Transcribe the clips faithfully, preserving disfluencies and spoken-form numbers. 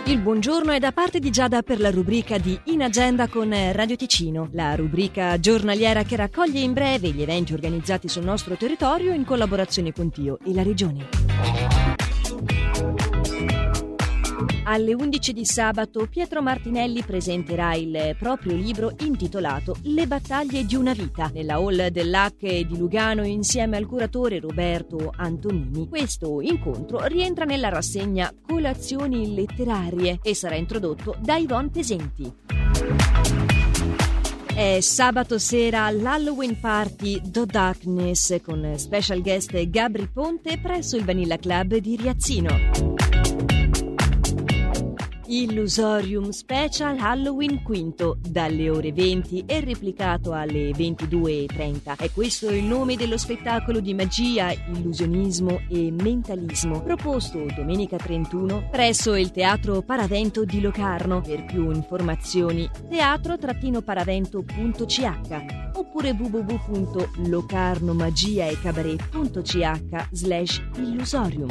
Il buongiorno è da parte di Giada per la rubrica di In Agenda con Radio Ticino, la rubrica giornaliera che raccoglie in breve gli eventi organizzati sul nostro territorio in collaborazione con Tio e la Regione. Alle undici di sabato Pietro Martinelli presenterà il proprio libro intitolato Le battaglie di una vita nella hall dell'A C E di Lugano insieme al curatore Roberto Antonini. Questo incontro rientra nella rassegna Colazioni letterarie e sarà introdotto da Yvonne Pesenti. È sabato sera l'Halloween Party Do Darkness con special guest Gabri Ponte presso il Vanilla Club di Riazzino. Illusorium Special Halloween Quinto dalle ore venti e replicato alle ventidue e trenta. È questo il nome dello spettacolo di magia, illusionismo e mentalismo proposto domenica trentuno presso il Teatro Paravento di Locarno. Per più informazioni teatro paravento punto c h oppure w w w punto locarnomagiaecabaret.ch slash illusorium.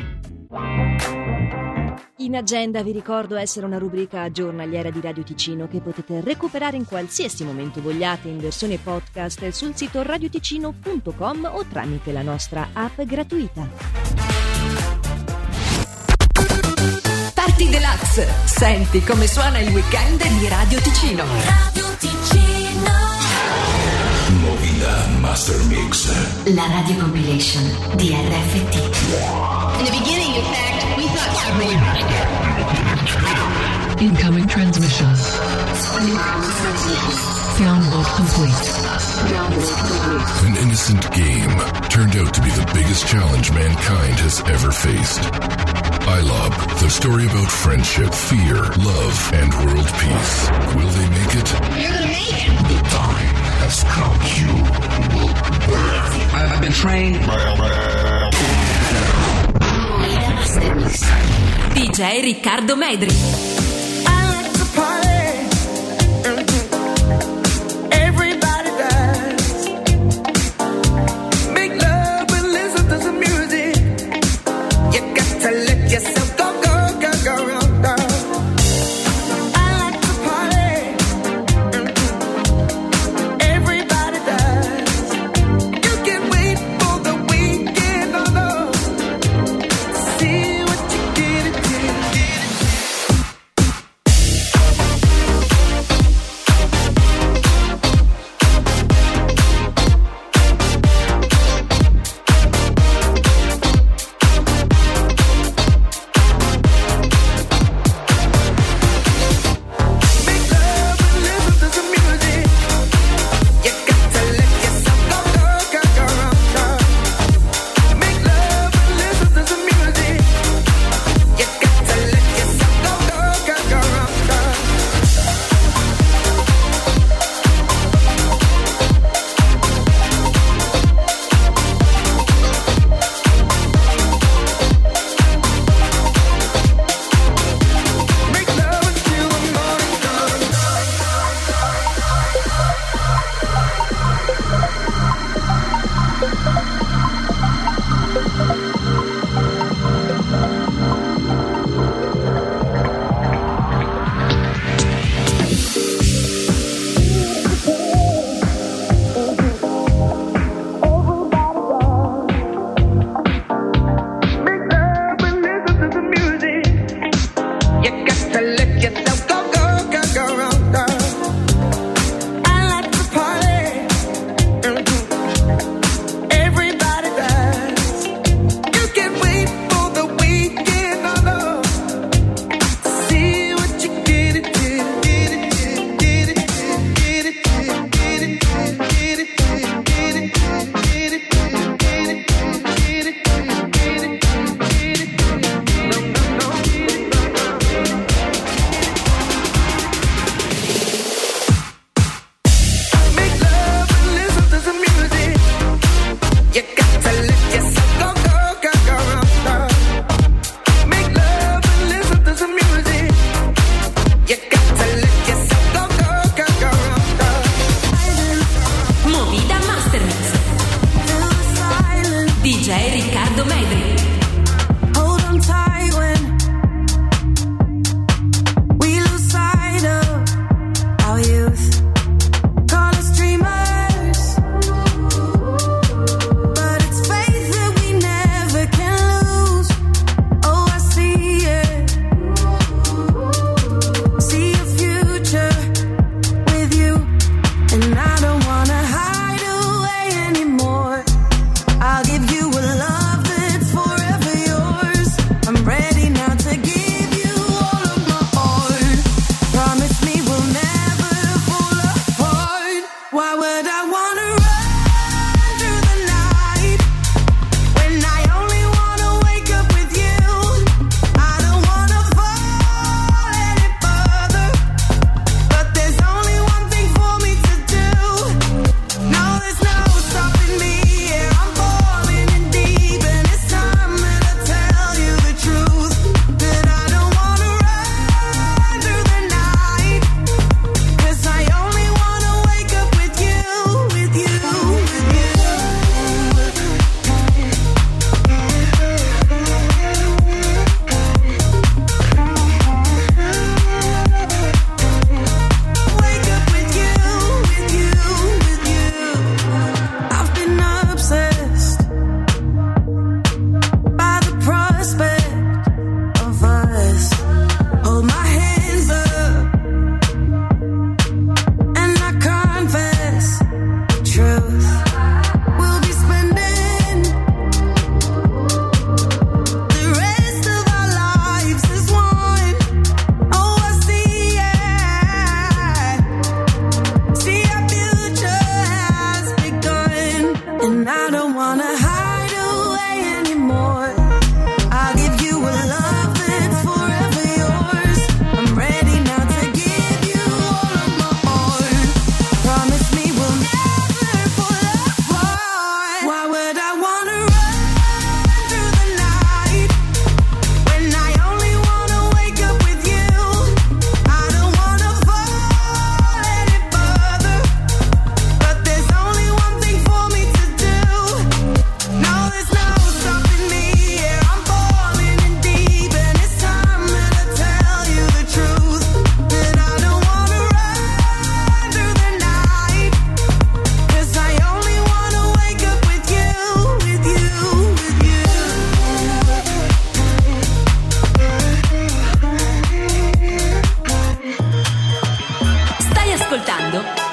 In Agenda vi ricordo essere una rubrica giornaliera di Radio Ticino che potete recuperare in qualsiasi momento vogliate in versione podcast sul sito radioticino punto com o tramite la nostra app gratuita. Party Deluxe. Senti come suona il weekend di Radio Ticino. Radio Ticino. Movida Master Mix. La radio compilation di R F T. In the beginning, in fact, we thought everyone... Incoming transmission. Download complete. An innocent game turned out to be the biggest challenge mankind has ever faced. iLob, the story about friendship, fear, love, and world peace. Will they make it? You're gonna make it! The time has come. You will burn. I've been trained. D J Riccardo Medri.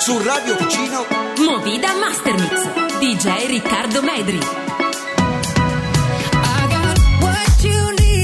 su Radio Ticino. Movida Mastermix, D J Riccardo Medri.